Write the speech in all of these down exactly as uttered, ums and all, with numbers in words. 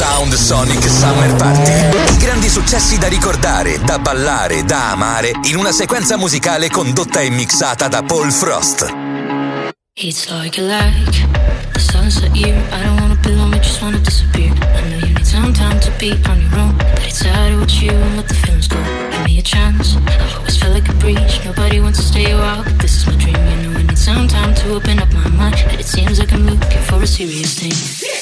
Sound Sonic Summer Party. I grandi successi da ricordare, da ballare, da amare, in una sequenza musicale condotta e mixata da Paul Frost. It's like a like the sunset year. I don't wanna belong, I just wanna disappear. I know you need some time to be on your own, but it's harder with you and let the feelings go. Give me a chance. I've always felt like a breach. Nobody wants to stay a while, but this is my dream. You know I need some time to open up my mind, but it seems like I'm looking for a serious thing.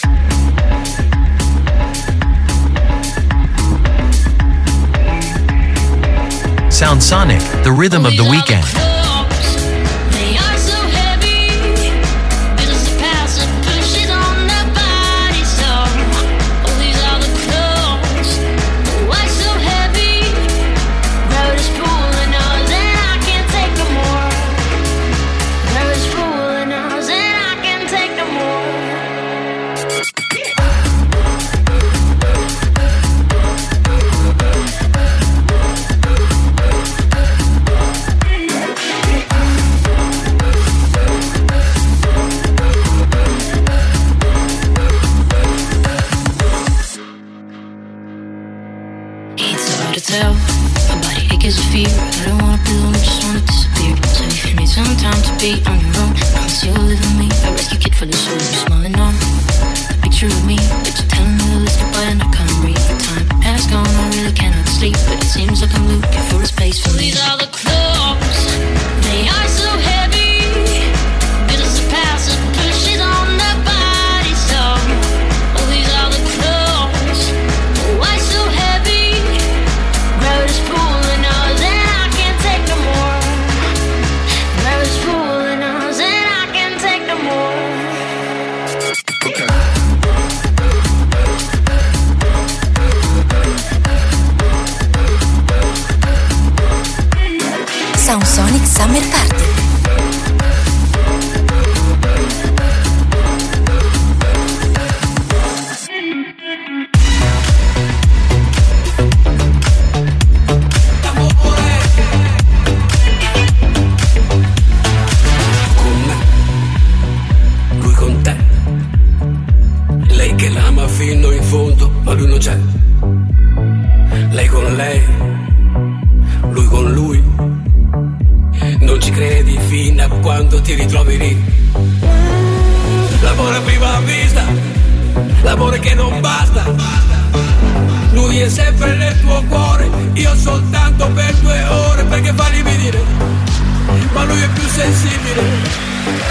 Sound Sonic, the rhythm of the weekend. Tell my body aches with fear. I don't wanna be alone, I just wanna disappear. So if you need some time to be on your own, promise you'll live with me. A rescue kit for the soul, you're smiling on a picture of me, but you're telling me to list goodbye and I can't breathe. The time has gone, I really cannot sleep, but it seems like I'm looking for a space for me. These are the clothes, they are so heavy. This is the past that pushes on the body. So oh, these are the clothes, why so heavy? Gravity's pulling us and I can't take no more. Gravity's pulling us and I can't take no more. Okay. Sound Sonic Summer Party. Fino in fondo, ma lui non c'è. Lei con lei, lui con lui. Non ci credi fino a quando ti ritrovi lì. L'amore a prima vista, l'amore che non basta. Lui è sempre nel tuo cuore, io soltanto per due ore, perché fa lividire, ma lui è più sensibile.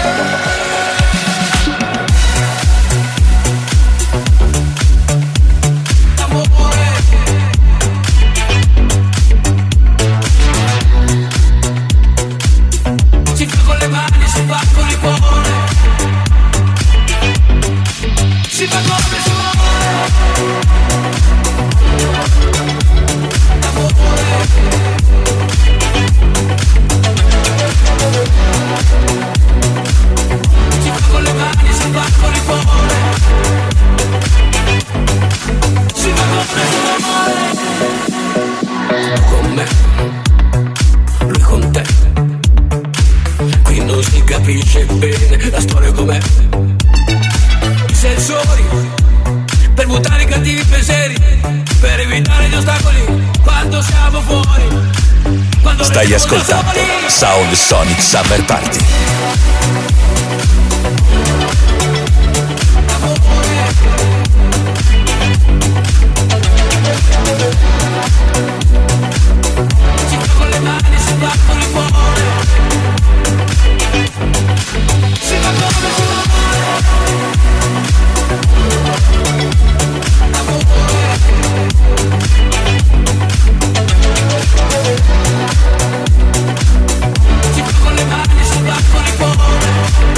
Stai ascoltando Sound Sonic Summer Party. Con le mani sul bancone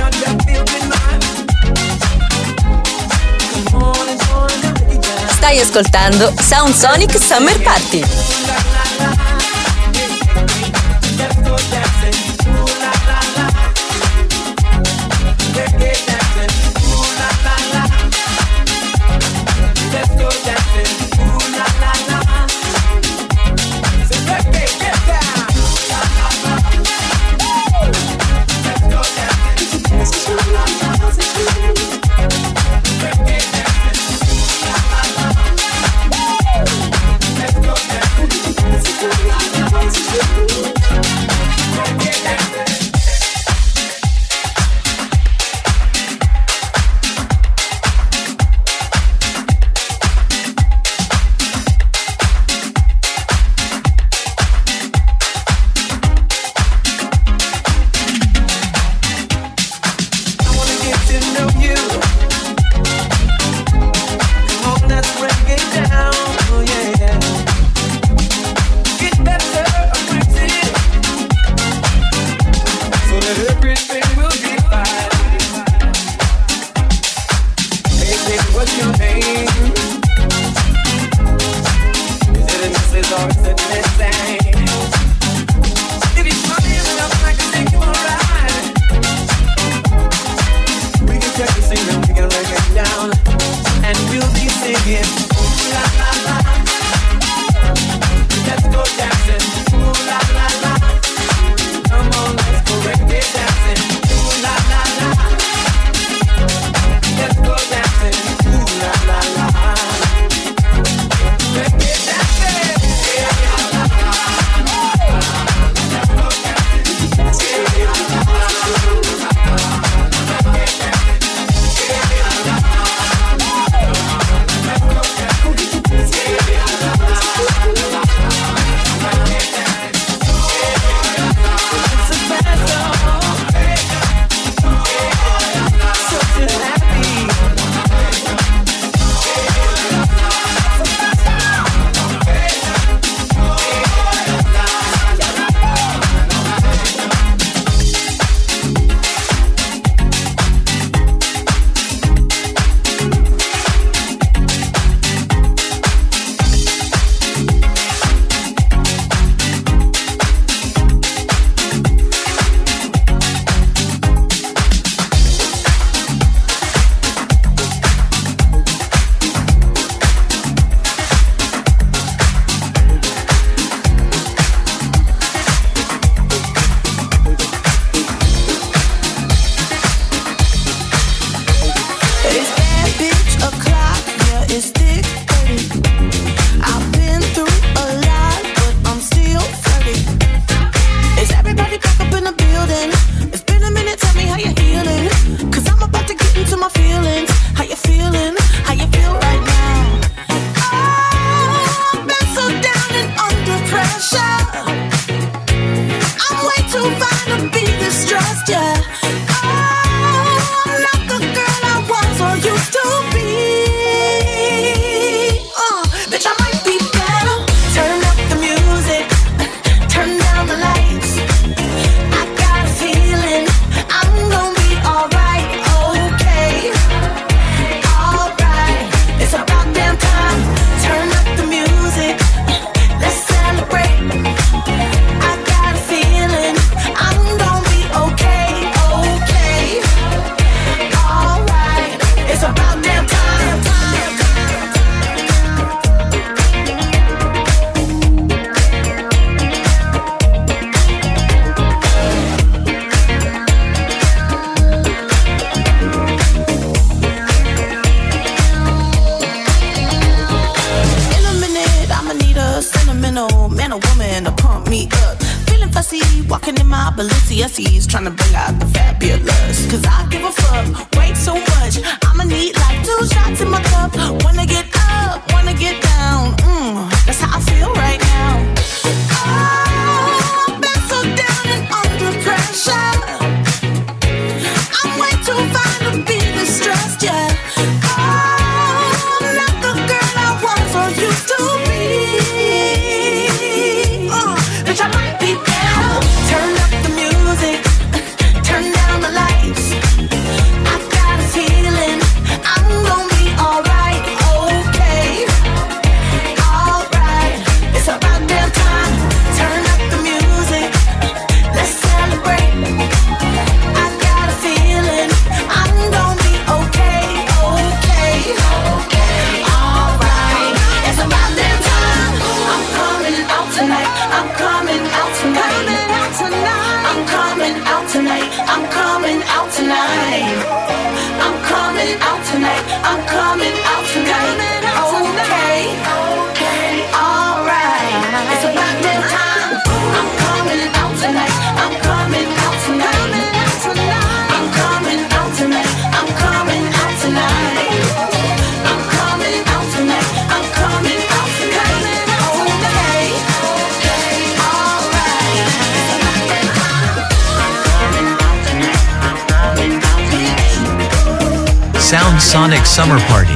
Stai ascoltando Sound Sonic Summer Party. Balenciennes trying to bring out the fabulous. Cause I give a fuck, way too much. I'ma need like two shots in my cup. Wanna get up, wanna get down. Mmm, that's how I feel right now. Oh, I've been so down and under pressure. I'm way too fine to be distressed, yeah. Oh, I'm not the girl I was or used to be. Uh, bitch, I might be down. Turn up the music, turn down the lights. Sound Sonic Summer Party.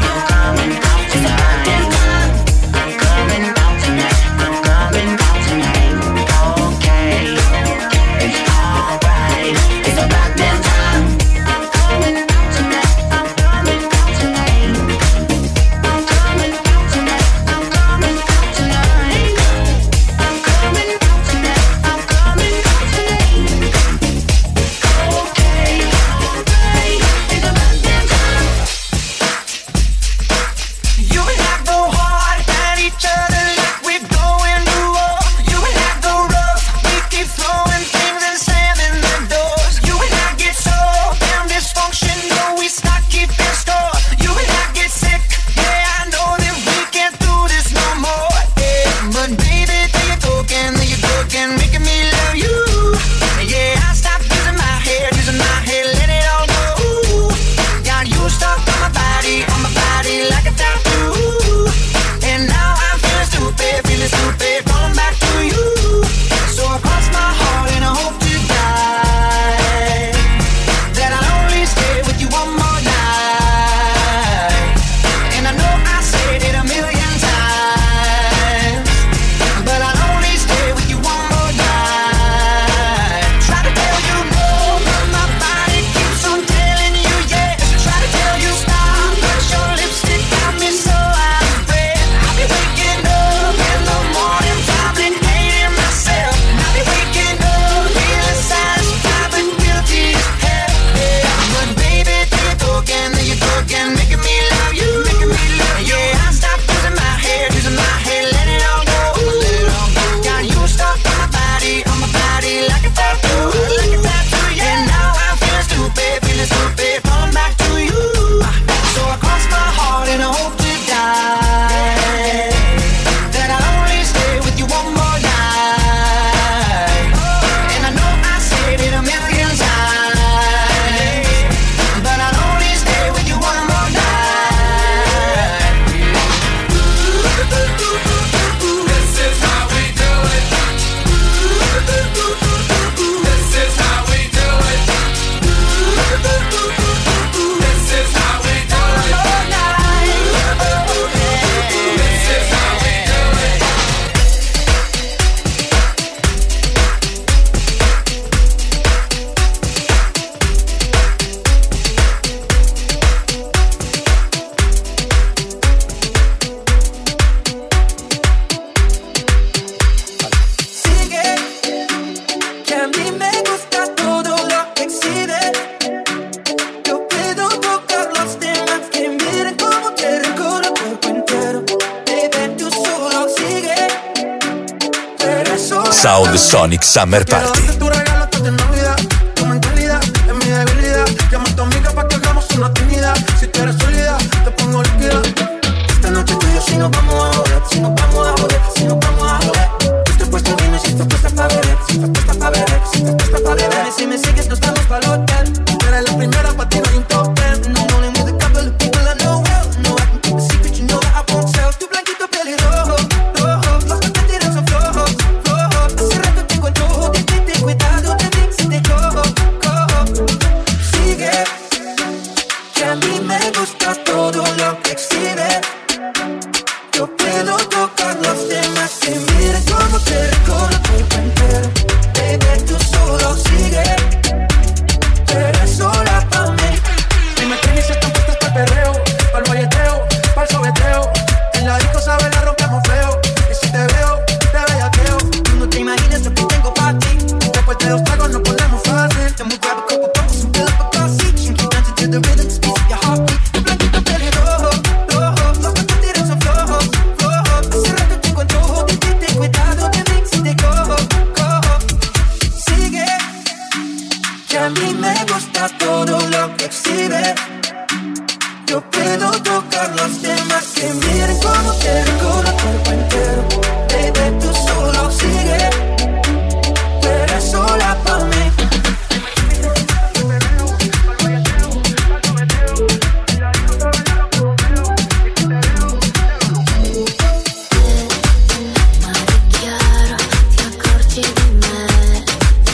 Sound Sonic Summer Party.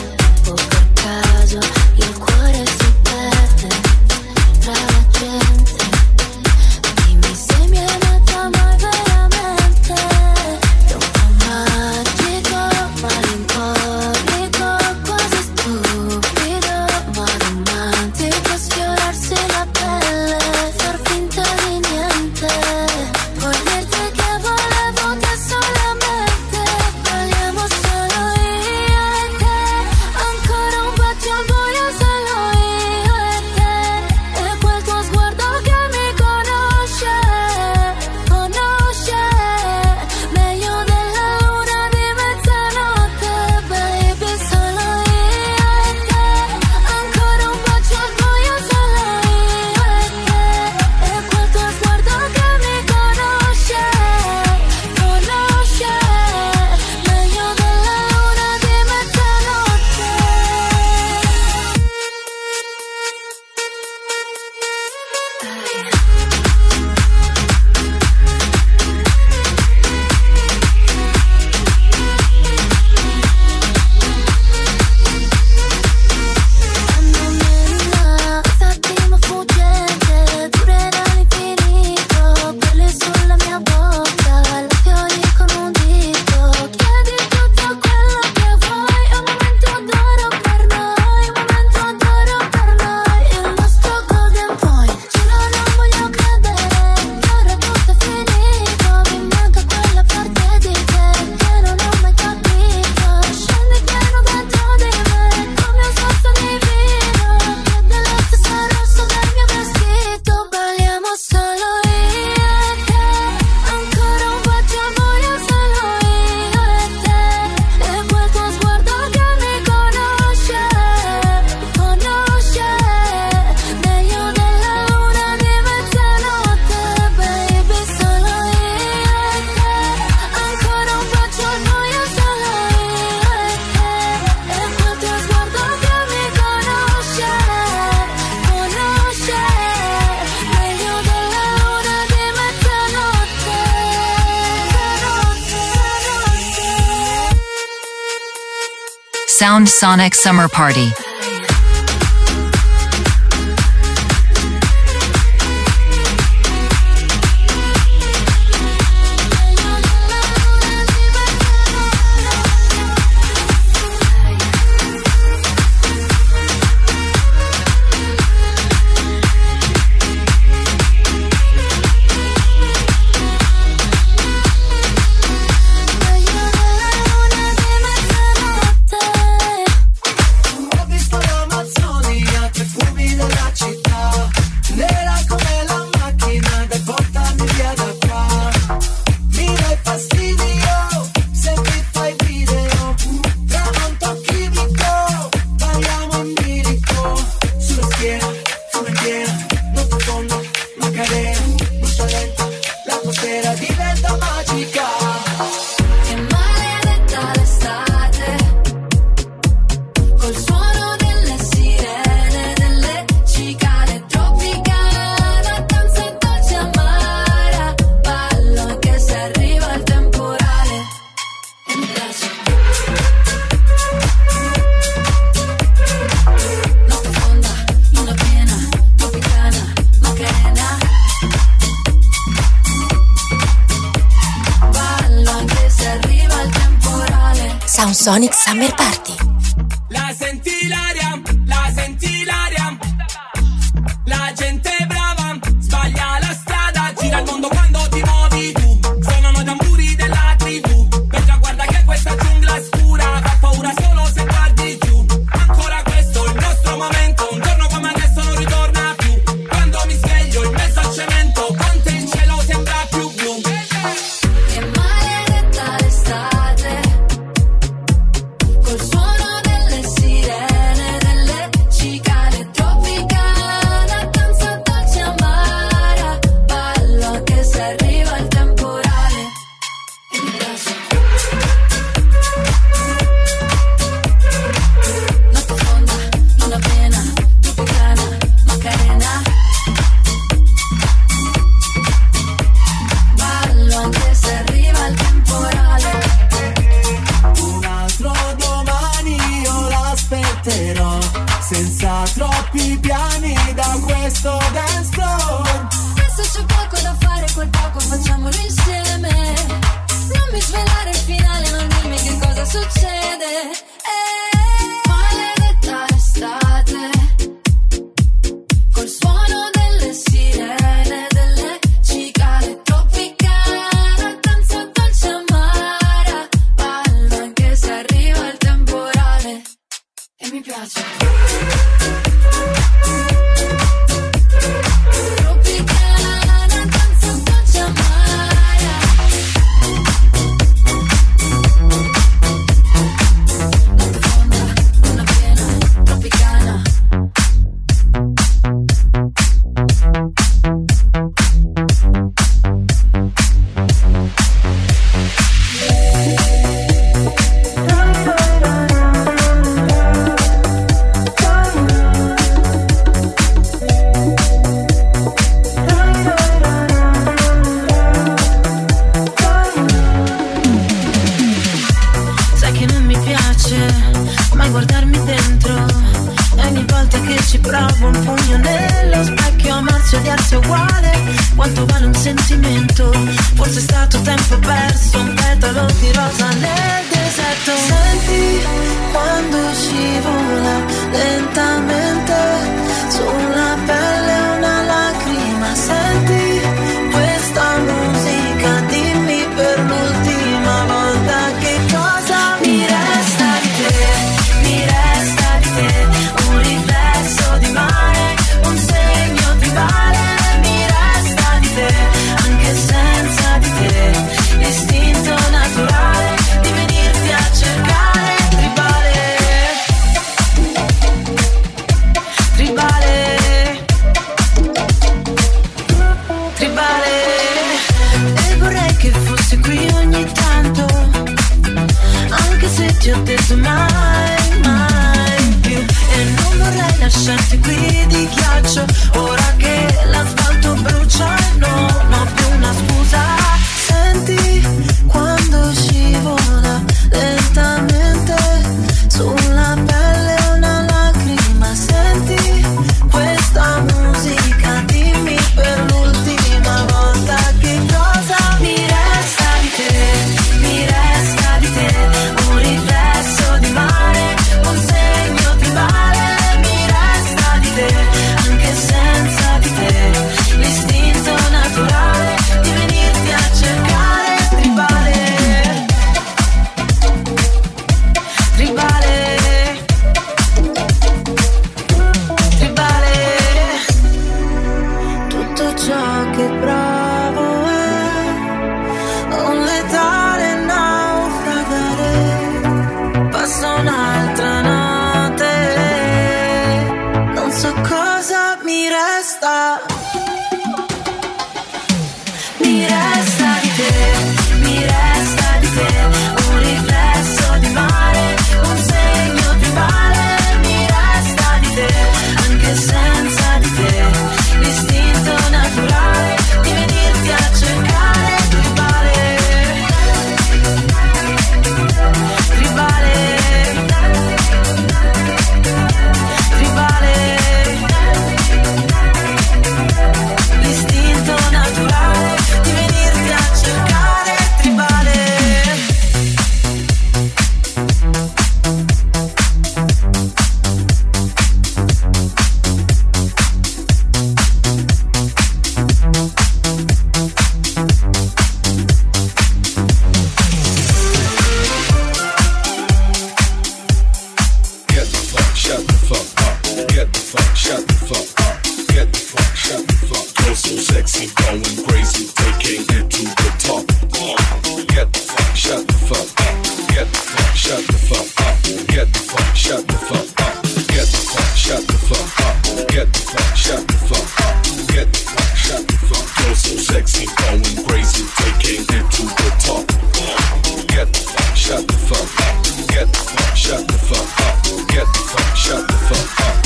Il cuore si perde tra la gente. Sound Sonic Summer Party. Sonic Summer Party. La senti l'aria, la senti l'aria. La gente brava, sbaglia la strada, gira il mondo quando ti muovi tu. Suonano i tamburi della tribù. Perché guarda che questa giungla è scura, fa paura solo se guardi giù. Ancora questo è il nostro momento, un giorno come adesso non ritorna più. Quando mi sveglio in mezzo al cemento, con te il cielo sembra più blu. Che maledetta l'estate. Col suono delle sirene, delle cicale tropicana, danza dolce amara, ballo anche se arriva il temporale. E mi piace. Notte fonda, luna piena, tropicana, Macarena. Ballo anche se arriva il temporale. Un altro domani io l'aspetterò, senza troppi piani da questo dance floor. Adesso c'è poco da fare, quel poco facciamolo insieme. Non mi svelare il finale, non dimmi che cosa succede. Eh, maledetta l'estate. Col suono delle sirene, delle cicale tropicana, danza dolce amara, ballo anche se arriva il temporale. E mi piace. Tropicana, danza dolce amara. Notte fonda, luna piena, tropicana. Sai che non mi piace mai guardarmi dentro, e ogni volta che ci provo un pugno nello specchio, amarsi e odiarsi è uguale. Quanto vale un sentimento? Forse è stato tempo perso, un petalo di rosa nel deserto. Senti quando scivola lentamente sulla pelle una lacrima. Senti questa musica, dimmi per l'ultima volta che cosa mi resta di te. Mi resta di te un riflesso di mare, un segno di vale. Mi resta di te anche senza di te, istinto naturale di venirti a cercare. Tribale, tribale, fa. Mi resta di te, mi resta di te, un riflesso di mare, un segno tribale. Mi resta di te, anche senza di te, l'istinto naturale di venirti a cercare. Tribale, tribale, tribale, l'istinto naturale di venirti a cercare. Tribale. Get the fuck, shut the fuck up. Get the fuck, shut the fuck up. Get the fuck, shut the fuck. You're so sexy, going crazy, taking it to the top. Get the fuck, shut the fuck up. Get the fuck, shut the fuck up. Get the fuck, shut the fuck up. Get the fuck, shut the fuck up. Get the fuck, shut the fuck up. Get the fuck, shut the fuck. You're so sexy, going crazy, taking it to the top. Get the fuck, shut the fuck up. Get the fuck, shut the fuck up. Get the fuck, shut the fuck up.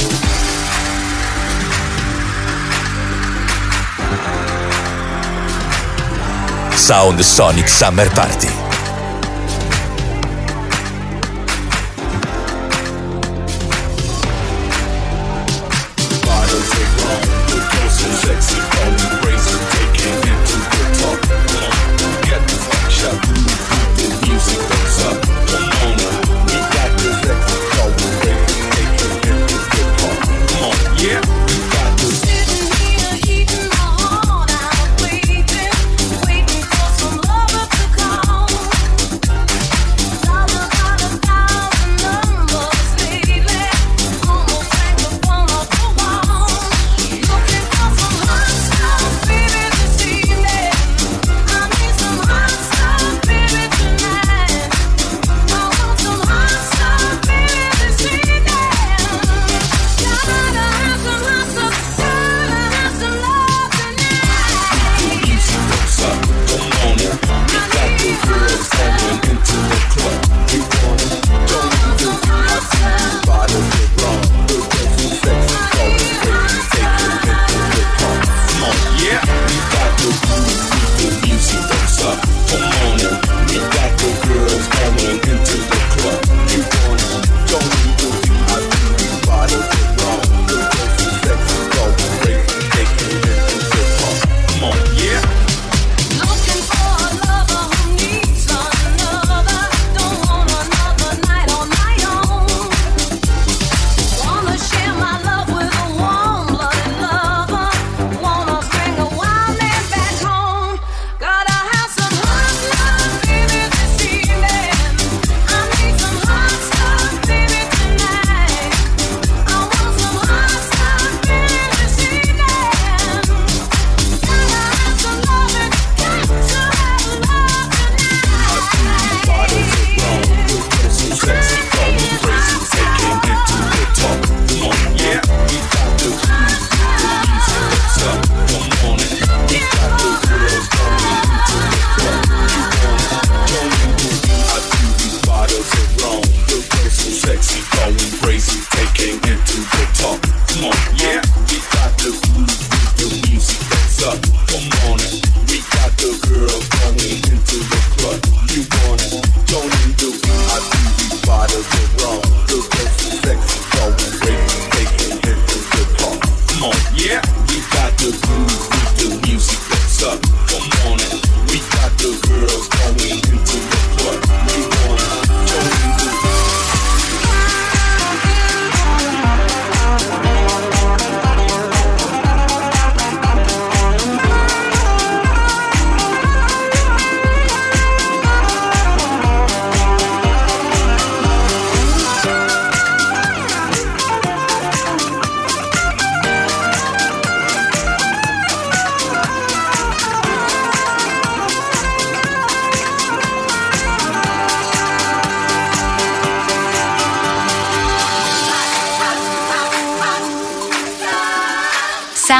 Sound Sonic Summer Party. Bottles of rum, you're so sexy, going crazy, taking it to the top. Get the fuck, shut the fuck up. The music goes up. Come on, we got the sexy, going crazy, taking it to the top. Come on, yeah, we got the Sitting here, heating my heart out, waiting, waiting for some lover to come.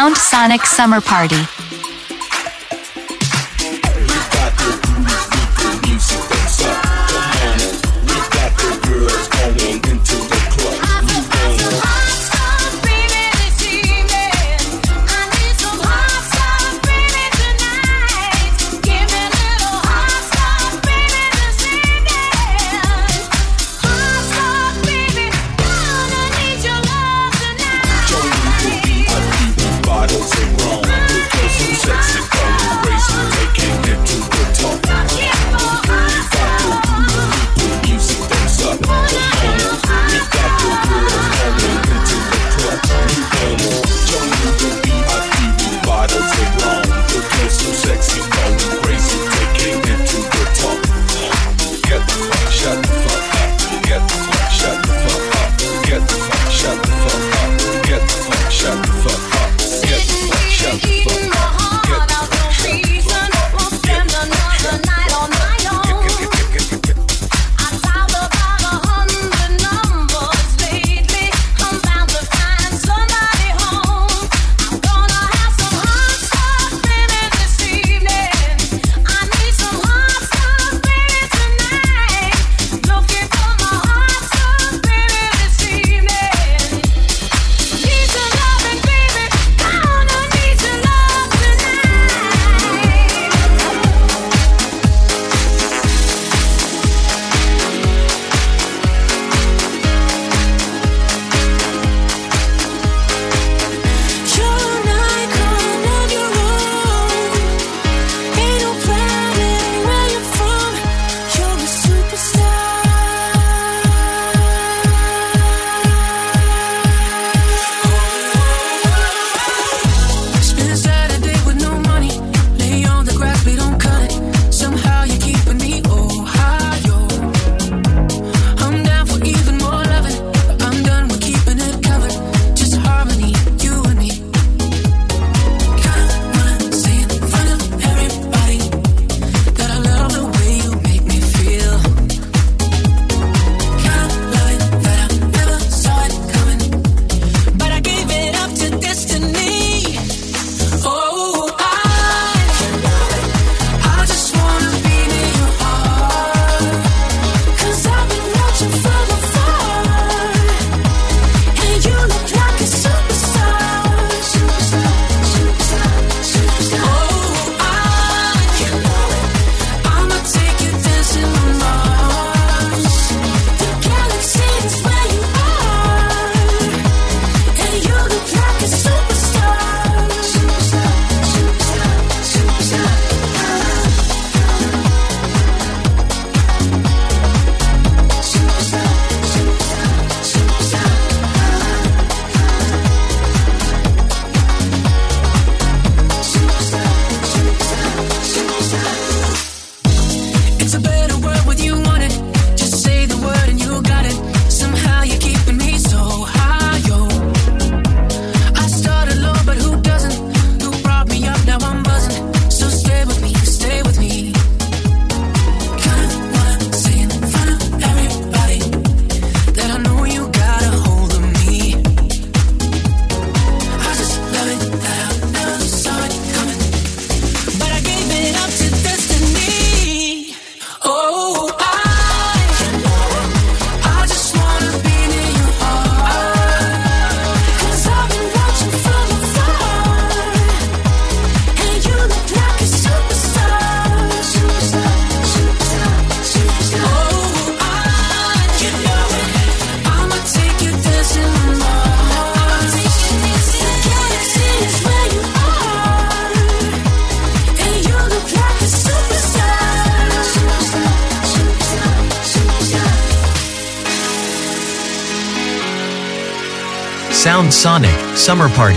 Sound Sonic Summer Party. Sound Sonic Summer Party.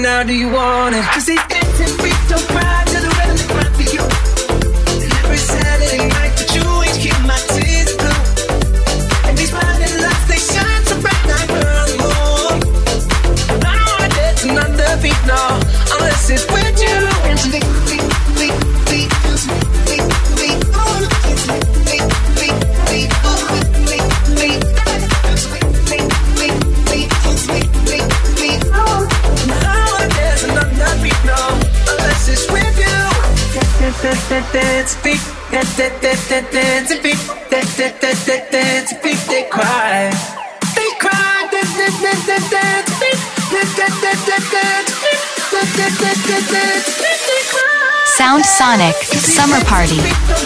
now do you want it? Cause these dancing feet don't cry to the rhythm they cry for you. And every Saturday night the jewels keep my tears blue. And these blinding lights they shine so bright like we're moon. And I don't wanna dance another beat, no, unless it's with you. Beat, beat, beat, beat, beat, beat, beat, oh, it's beat, beat, beat, beat, oh, beat, beat, beat, it's beat, beat, beat, beat, it's beat, beat, beat, oh. And I don't wanna dance another beat, no, unless it's with you. Dance, beat, dance, dance, dance, dance, beat, dance, dance, dance, dance, beat, they cry, they cry, dance, dance, dance, dance, dance, beat, dance, dance, dance, dance, dance, beat, dance, dance, dance, dance, dance, beat, they cry. Sound Sonic Summer Party.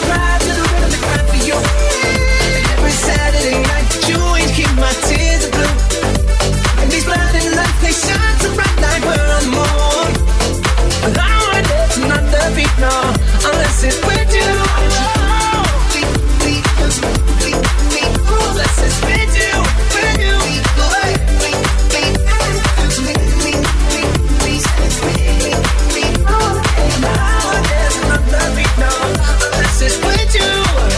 Every Saturday night, you ain't keep my tears blue. And these blinding lights, they shine so bright like we're on the moon. But I don't wanna dance another beat, no, unless it's with you. Beat, beat, beat, beat, unless it's with you, with you. Beat, beat, beat, beat, beat, beat, beat, beat, and I don't wanna dance another beat, no, unless it's with you.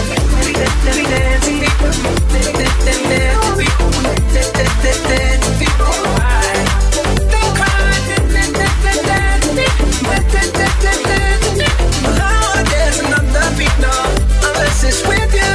It's with you.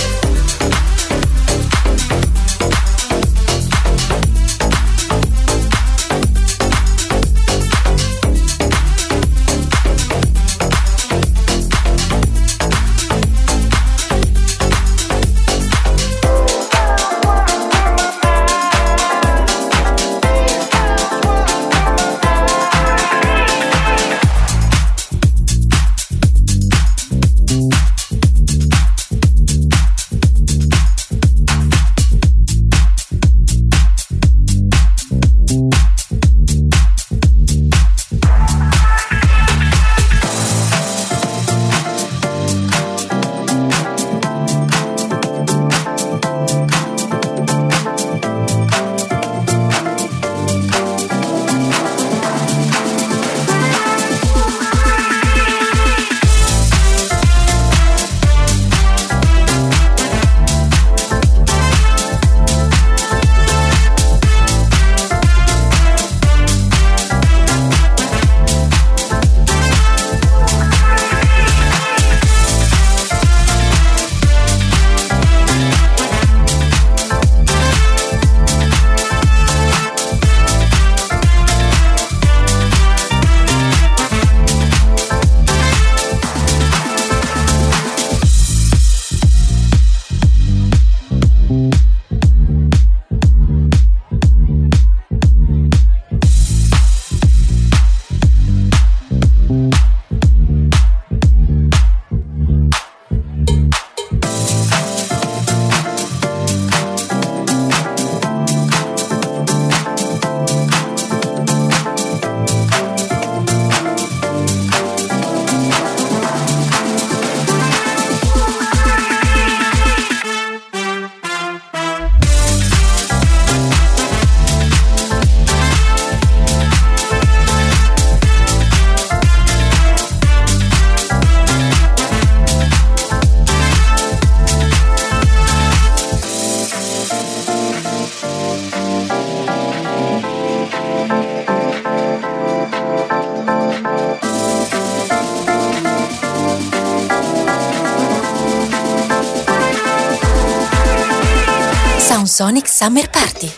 Sonic Summer Party.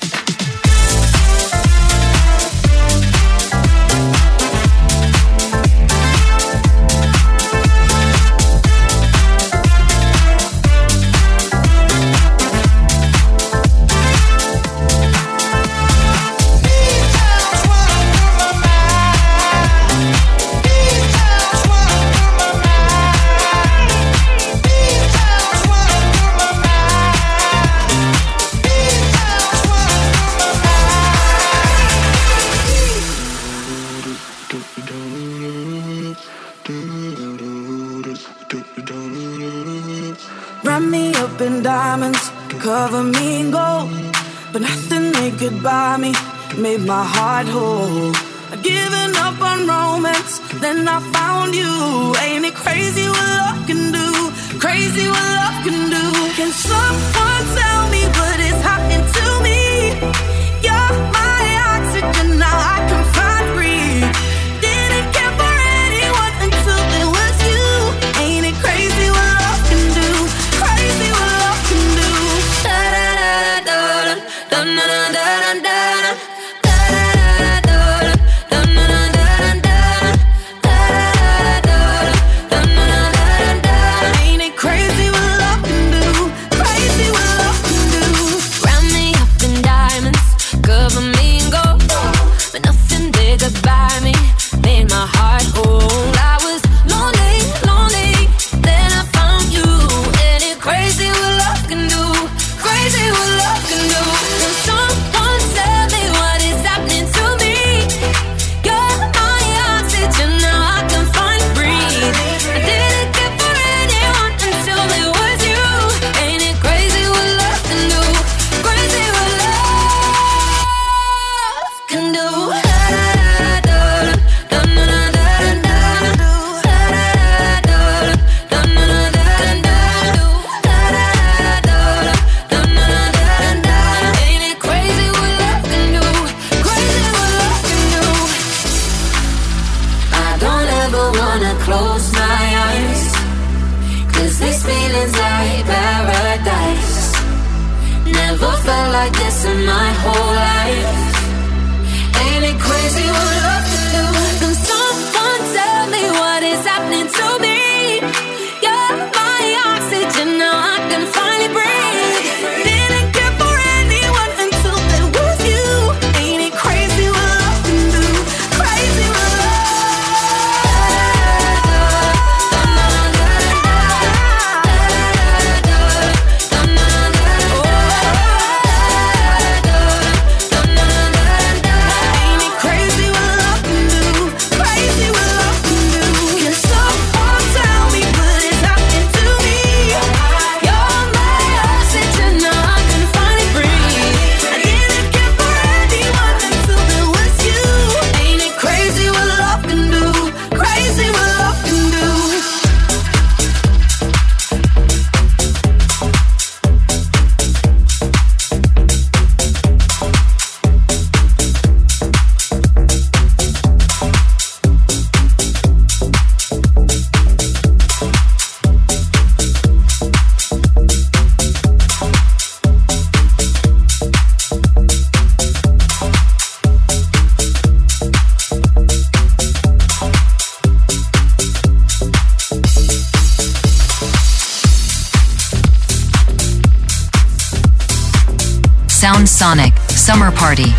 Wrap me up in diamonds, cover me in gold, but nothing they could buy me made my heart whole. I'd given up on romance, then I found you. Ain't it crazy what love can do? Crazy what love can do. Can someone tell me what is happening to me? You're my oxygen, now I can find breathe. Didn't care for anyone until there was you. Ain't it crazy what love can do? Crazy what love can do. Da da da da da da da da da da. In my whole life, ain't it crazy what love can do? Can someone tell me what is happening to me? You're my oxygen, now I can finally breathe. Didn't care for anyone until there was you. Ain't it crazy what love can do? Crazy what Sound Sonic Summer Party.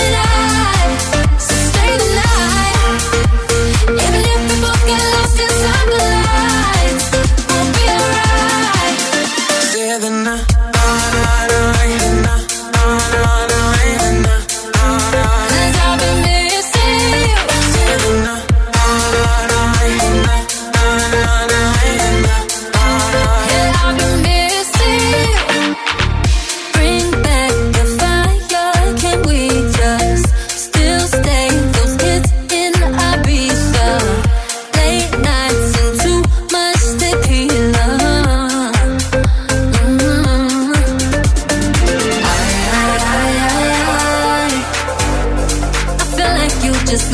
Even if we both get lost inside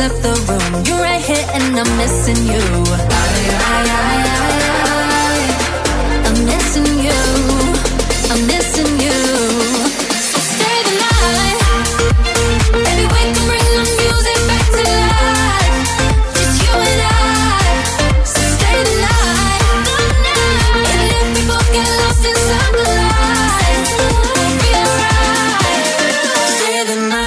left the room. You're right here and I'm missing you. I, I, I, I, I, I'm missing you. I'm missing you. So stay the night. Baby, we can bring the music back to life. Just you and I. So stay the night. Even if we both get lost inside the lights, we'll be alright. Stay the night.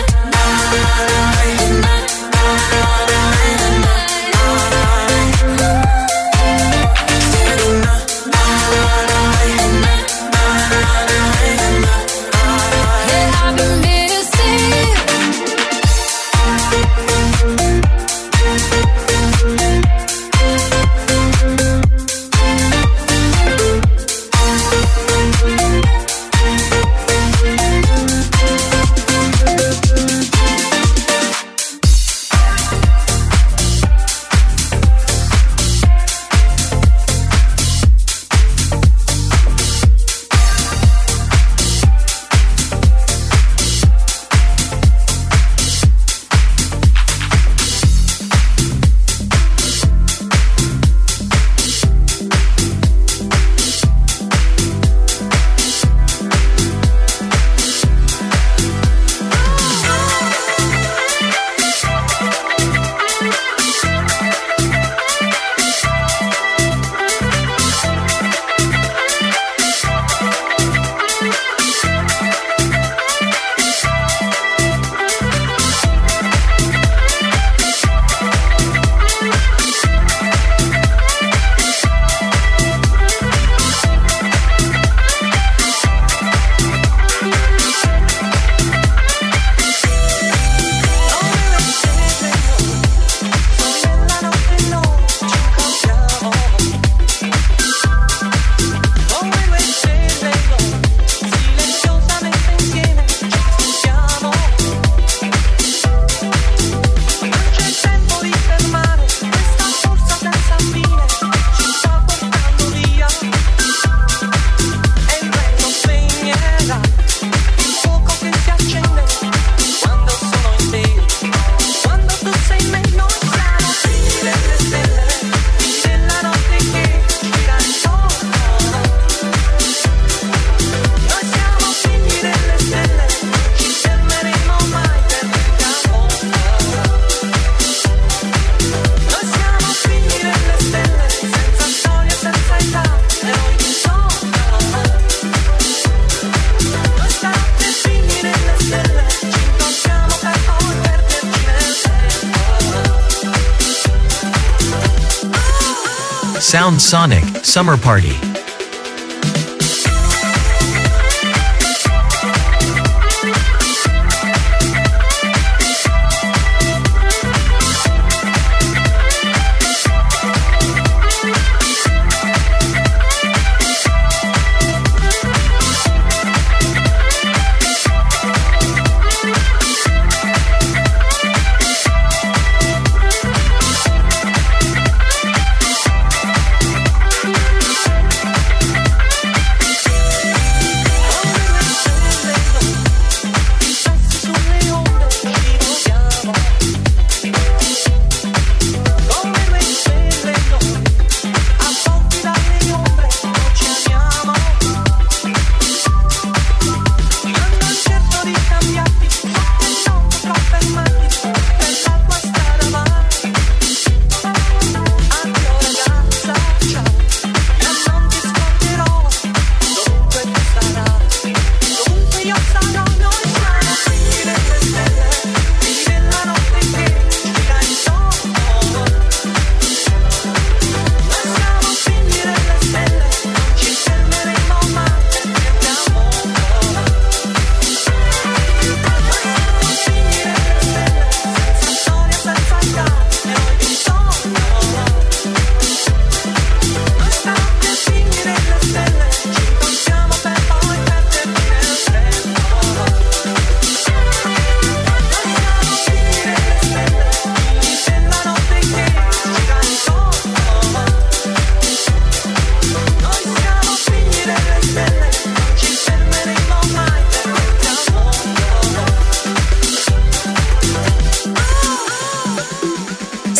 Sound Sonic Summer Party.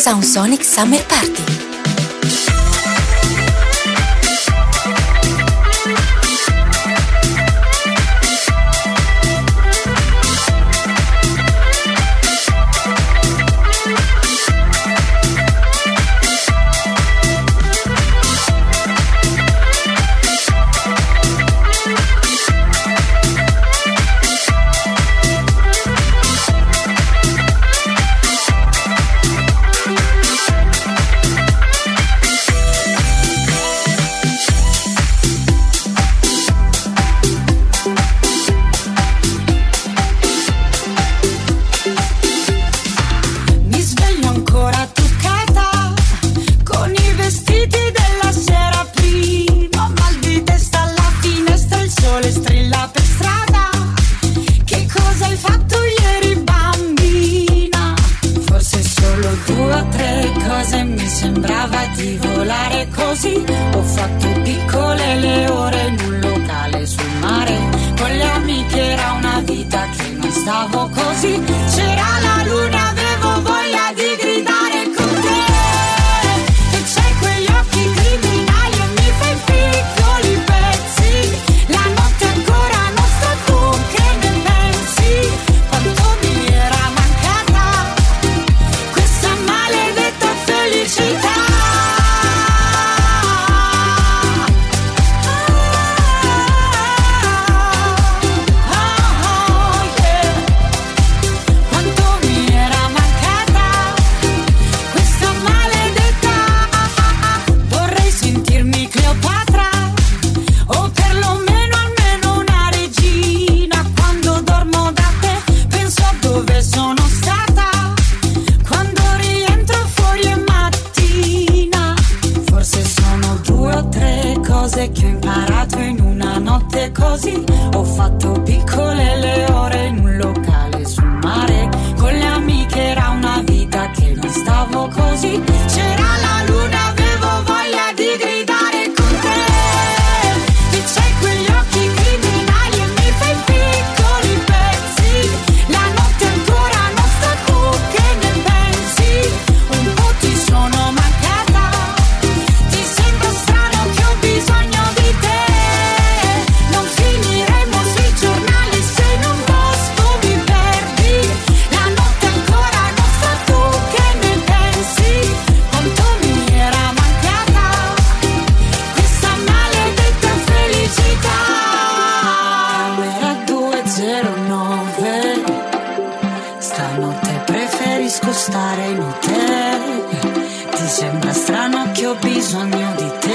Sound Sonic Summer Party. Stare in hotel, ti sembra strano che ho bisogno di te.